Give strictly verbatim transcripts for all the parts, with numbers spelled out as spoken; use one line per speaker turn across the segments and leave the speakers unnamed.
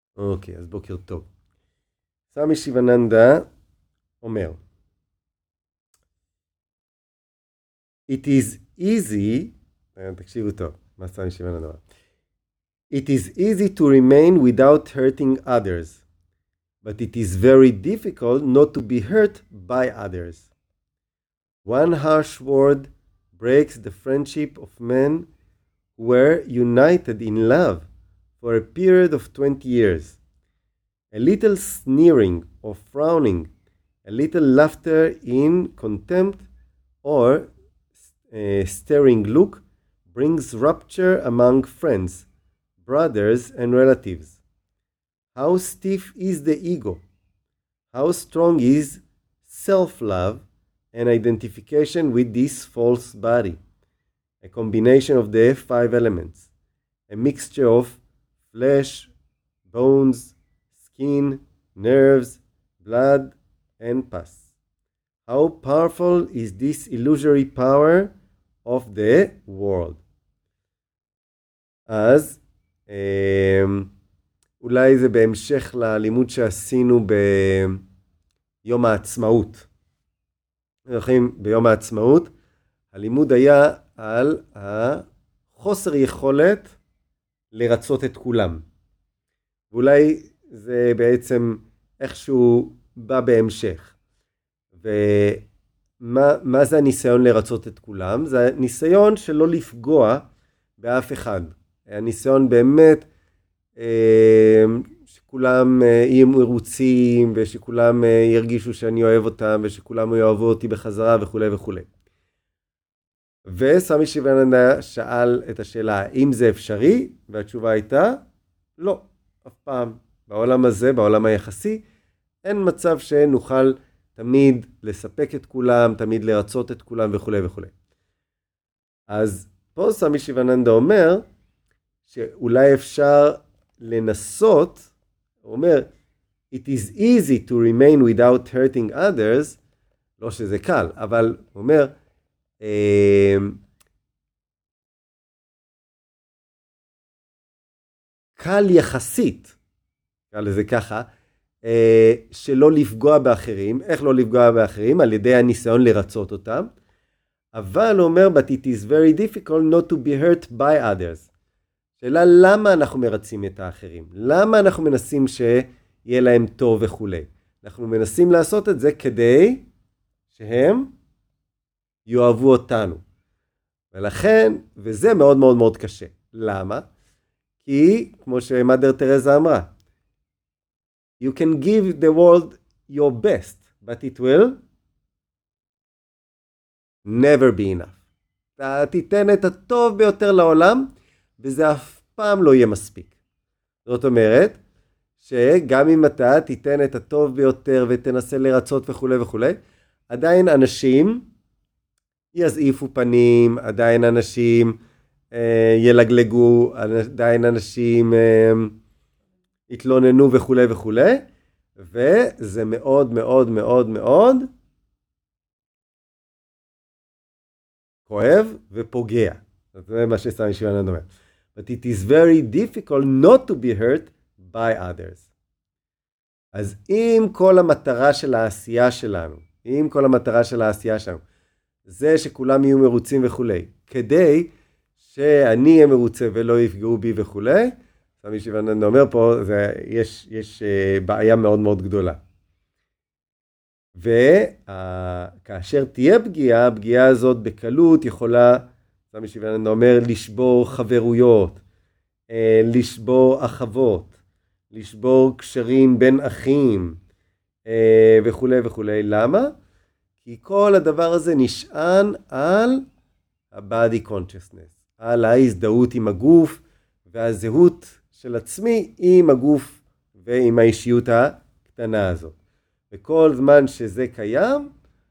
אוקיי, אז בוקר טוב. סמי שיבננדה אומר, It is easy, תקשיבו טוב, מה סמי שיבננדה אומר? It is easy to remain without hurting others, but it is very difficult not to be hurt by others. One harsh word breaks the friendship of men who were united in love for a period of twenty years. A little sneering or frowning, a little laughter in contempt, or a staring look brings rupture among friends, brothers, and relatives. How stiff is the ego? How strong is self-love and identification with this false body? A combination of the five elements, a mixture of flesh, bones, skin, nerves, blood, and pus. How powerful is this illusory power of the world? אז אולי זה בהמשך ללימוד שעשינו ביום העצמאות. ביום העצמאות הלימוד היה על החוסר יכולת לרצות את כולם. ואולי זה בעצם איכשהו בא בהמשך. ומה מה זה הניסיון לרצות את כולם? זה הניסיון שלא לפגוע באף אחד. הניסיון באמת אה, שכולם יהיו מרוצים, ושכולם ירגישו שאני אוהב אותם, ושכולם יאהבו אותי בחזרה וכו' וכו'. וסמי שיבננדה שאל את השאלה, האם זה אפשרי? והתשובה הייתה, לא, אף פעם. בעולם הזה, בעולם היחסי, אין מצב שנוכל תמיד לספק את כולם, תמיד לרצות את כולם וכו' וכו'. אז פה סמי שיבננדה אומר, שאולי אפשר לנסות, הוא אומר, it is easy to remain without hurting others, לא שזה קל, אבל הוא אומר, קל יחסית, קל לזה ככה, שלא לפגוע באחרים. איך לא לפגוע באחרים? על ידי הניסיון לרצות אותם. אבל הוא אומר, but it is very difficult not to be hurt by others. שאלה, למה אנחנו מרצים את האחרים? למה אנחנו מנסים שיהיה להם טוב וכו'? אנחנו מנסים לעשות את זה כדי שהם יאהבו אותנו. ולכן, וזה מאוד מאוד מאוד קשה. למה? כי, כמו שמאדר תרזה אמרה, you can give the world your best, but it will never be enough. אתה תיתן את הטוב ביותר לעולם, וזה אף פעם לא יהיה מספיק. זאת אומרת, שגם אם אתה תיתן את הטוב ביותר, ותנסה לרצות וכו' וכו', עדיין אנשים יזעיפו פנים, עדיין אנשים אה, ילגלגו, עדיין אנשים אה, יתלוננו וכו' וכו', וזה מאוד מאוד מאוד מאוד כואב ופוגע. זה מה שסמי שיבננדה אומר. But it is very difficult not to be hurt by others. אז אם כל המטרה של העשייה שלנו, אם כל המטרה של העשייה שלנו, זה שכולם יהיו מרוצים וכו', כדי שאני אהיה מרוצה ולא יפגעו בי וכו', סמי שיבננדה אומר פה, זה, יש, יש uh, בעיה מאוד מאוד גדולה. וכאשר תהיה פגיעה, הפגיעה הזאת בקלות יכולה, סמי שיבננדה אומר, לשבור חברויות, לשבור אחוות, לשבור קשרים בין אחים, וכו' וכו'. למה? כי כל הדבר הזה נשען על ה-body consciousness, על ההזדהות עם הגוף, והזהות של עצמי עם הגוף ועם האישיות הקטנה הזאת. וכל זמן שזה קיים,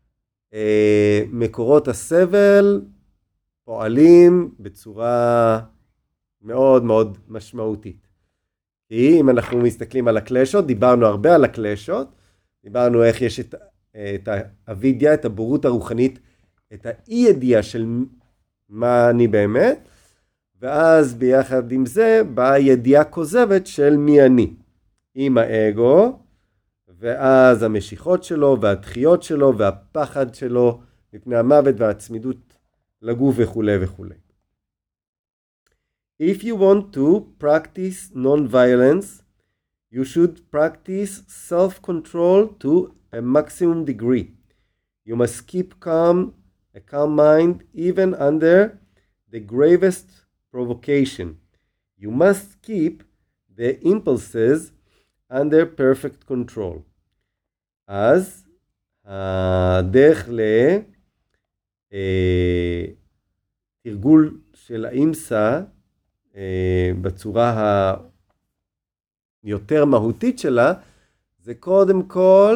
מקורות הסבל פועלים בצורה מאוד מאוד משמעותית. כי אם אנחנו מסתכלים על הקלשות, דיברנו הרבה על הקלשות, דיברנו איך יש את, את האבידיה, את הבורות הרוחנית, את האי ידיעה של מה אני באמת, ואז ביחד עם זה באה ידיעה כוזבת של מי אני. עם האגו, ואז המשיכות שלו והדחיות שלו והפחד שלו מפני המוות והצמידות לגוף וכו' וכו'. If you want to practice non-violence, you should practice self-control to a maximum degree. You must keep calm, a calm mind even under the gravest provocation. You must keep the impulses under perfect control. אז הדרך לתרגול של האימסה בצורה היותר מהותית שלה, זה קודם כל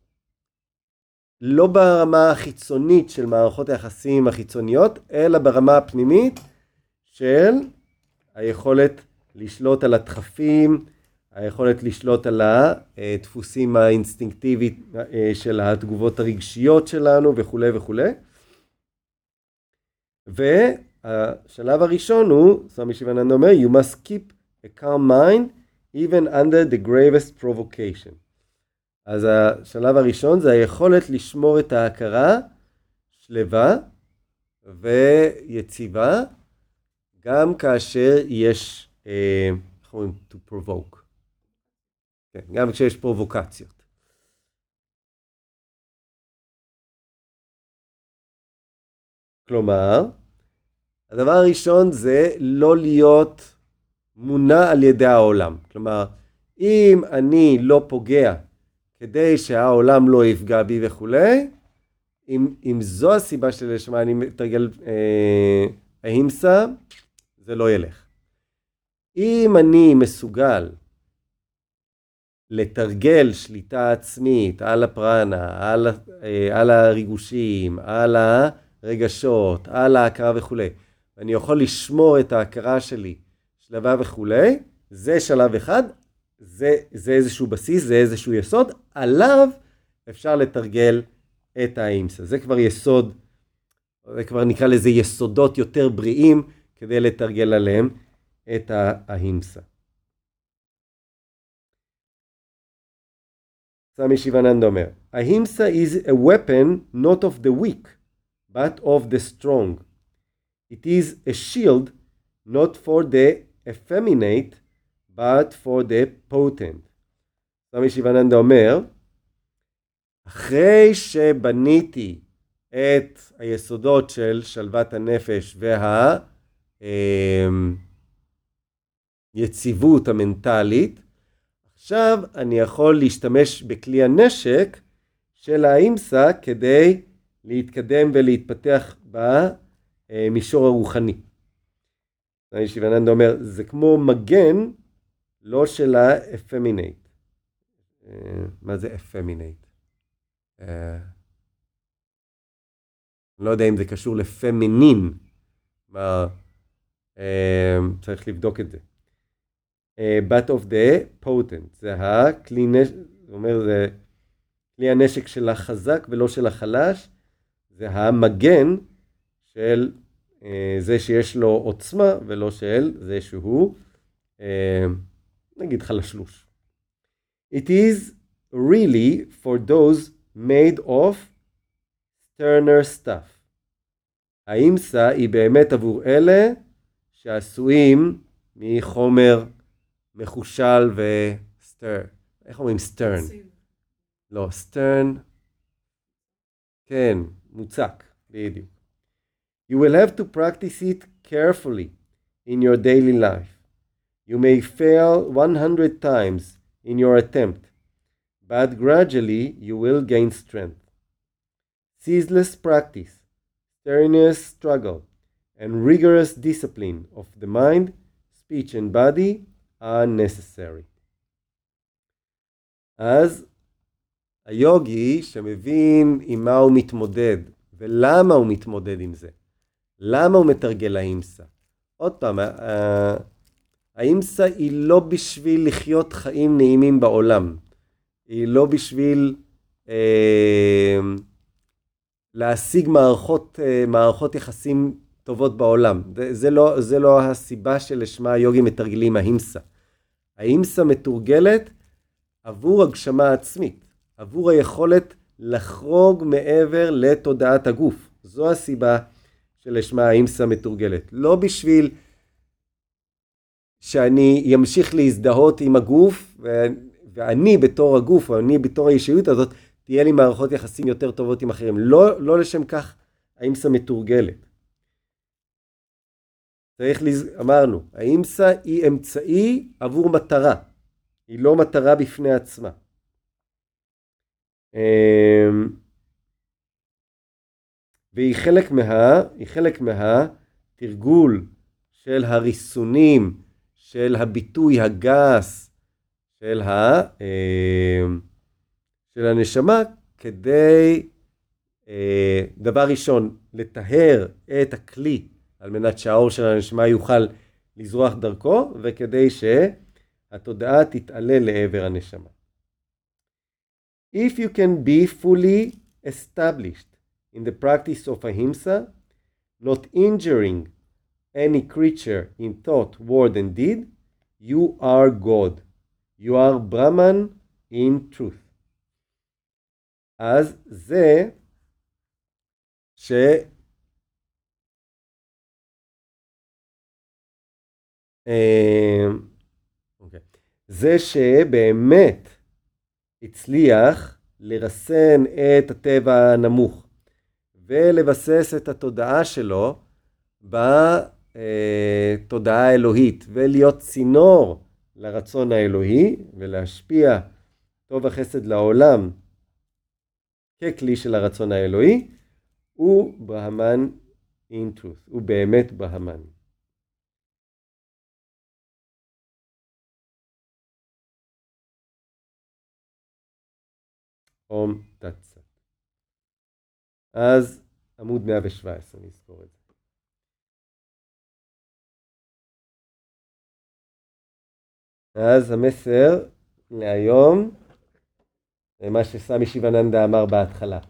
לא ברמה החיצונית של מערכות היחסים החיצוניות, אלא ברמה הפנימית של היכולת לשלוט על הדחפים, היכולת לשלוט על הדפוסים האינסטינקטיבית של התגובות הרגשיות שלנו וכו' וכו'. והשלב הראשון הוא, סמי שיבננדה אומר, you must keep a calm mind even under the gravest provocation. אז השלב הראשון זה היכולת לשמור את ההכרה שלווה ויציבה, גם כאשר יש, איך אומרים, to provoke. כן, גם כשיש פרובוקציות. כלומר, הדבר הראשון זה לא להיות מונע על ידי העולם. כלומר, אם אני לא פוגע כדי שהעולם לא יפגע בי וכו', אם, אם זו הסיבה שלשמה אני מתרגל אה, ההימסה, זה לא ילך. אם אני מסוגל לתרגל שליטה עצמית על הפרנה, על, אה, על הריגושים, על הרגשות, על ההכרה וכו', ואני יכול לשמור את ההכרה שלי, שלווה וכו', זה שלב אחד, זה, זה איזשהו בסיס, זה איזשהו יסוד, עליו אפשר לתרגל את ההימסה. זה כבר יסוד, זה כבר נקרא לזה יסודות יותר בריאים, כדי לתרגל עליהם את ההימסה. סמי שיבננדה אומר, ההימסה is a weapon not of the weak, but of the strong. It is a shield not for the effeminate, but for the potent. סמי שיבננדה אומר, אחרי שבניתי את היסודות של שלוות הנפש והיציבות המנטלית, עכשיו אני יכול להשתמש בכלי הנשק של ההימסה כדי להתקדם ולהתפתח במישור הרוחני. סמי שיבננדה אומר, זה כמו מגן, לא של האפמינט. מה זה אפמינט? אני לא יודע אם זה קשור לפמינין. מה, צריך לבדוק את זה. But of the potent. זה הכלי נשק, זאת אומרת, זה כלי הנשק של החזק ולא של החלש. זה המגן של זה שיש לו עוצמה ולא של זה שהוא נגיד חלשלוש. It is really for those made of sterner stuff. ההימסה היא באמת עבור אלה שעשויים מחומר מחושל וסטר. איך אומרים סטרן? לא, סטרן. כן, מוצק, בדיוק. You will have to practice it carefully in your daily life. You may fail one hundred times in your attempt, but gradually you will gain strength. Ceaseless practice, strenuous struggle, and rigorous discipline of the mind, speech and body are necessary. אז היוגי שמבין עם מה הוא מתמודד ולמה הוא מתמודד עם זה, למה הוא מתרגל ההימסה. עוד פעם, ההימסה היא לא בשביל לחיות חיים נעימים בעולם. היא לא בשביל אה, להשיג מערכות, אה, מערכות יחסים טובות בעולם. זה, זה, לא, זה לא הסיבה שלשמה היוגים מתרגלים ההימסה. ההימסה מתורגלת עבור הגשמה עצמית, עבור היכולת לחרוג מעבר לתודעת הגוף. זו הסיבה שלשמה האימסה מתורגלת. לא בשביל שאני אמשיך להזדהות עם הגוף, ואני בתור הגוף, או אני בתור האישיות הזאת, תהיה לי מערכות יחסים יותר טובות עם אחרים. לא, לא לשם כך האימסה מתורגלת. צריך, לז... אמרנו, האימסה היא אמצעי עבור מטרה. היא לא מטרה בפני עצמה. והיא חלק מה, היא חלק מהתרגול של הריסונים, של הביטוי הגס, של, ה, של הנשמה, כדי, דבר ראשון, לטהר את הכלי, על מנת שהאור של הנשמה יוכל לזרוח דרכו, וכדי שהתודעה תתעלה לעבר הנשמה. If you can be fully established in the practice of ahimsa, not injuring any creature in thought, word and deed, you are God. You are Brahman in truth. אז זה ש... Okay. זה שבאמת הצליח לרסן את הטבע הנמוך ולבסס את התודעה שלו בתודעה האלוהית ולהיות צינור לרצון האלוהי ולהשפיע טוב החסד לעולם ככלי של הרצון האלוהי, הוא ברהמן in truth, הוא באמת ברהמן. אום תצא. אז עמוד מאה ושבע עשרה, נזכור את זה. אז המסר להיום, מה שסמי שיבננדה אמר בהתחלה.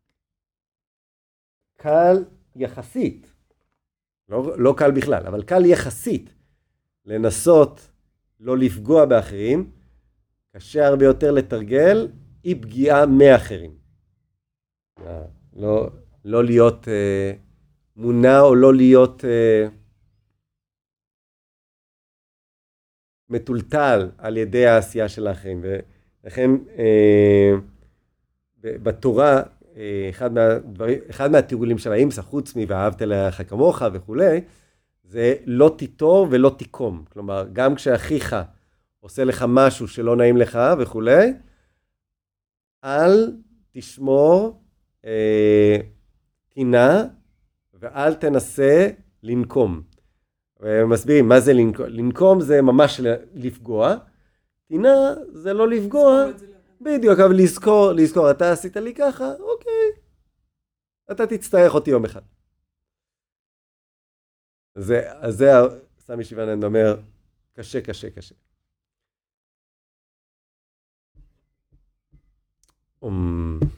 קל יחסית, לא, לא קל בכלל, אבל קל יחסית לנסות לא לפגוע באחרים, קשה הרבה יותר לתרגל אי פגיעה מאחרים. לא, לא להיות אה, מונע או לא להיות אה, מטולטל על ידי העשייה של האחרים. ולכן אה, בתורה, אה, אחד, מהדברים, אחד מהתרגולים של האימסה, חוץ מ"ואהבת לרעך כמוך" וכולי, זה לא תיטור ולא תיקום. כלומר, גם כשאחיך עושה לך משהו שלא נעים לך וכולי, אל תשמור אה, טינה ואל תנסה לנקום. ומסבירים מה זה לנקום. לנקום זה ממש לפגוע. טינה זה לא לפגוע. בדיוק, אבל לזכור, לזכור, אתה עשית לי ככה, אוקיי. אתה תצטרך אותי יום אחד. זה, אז זה סמי שיבננדה אומר, קשה, קשה, קשה. Um...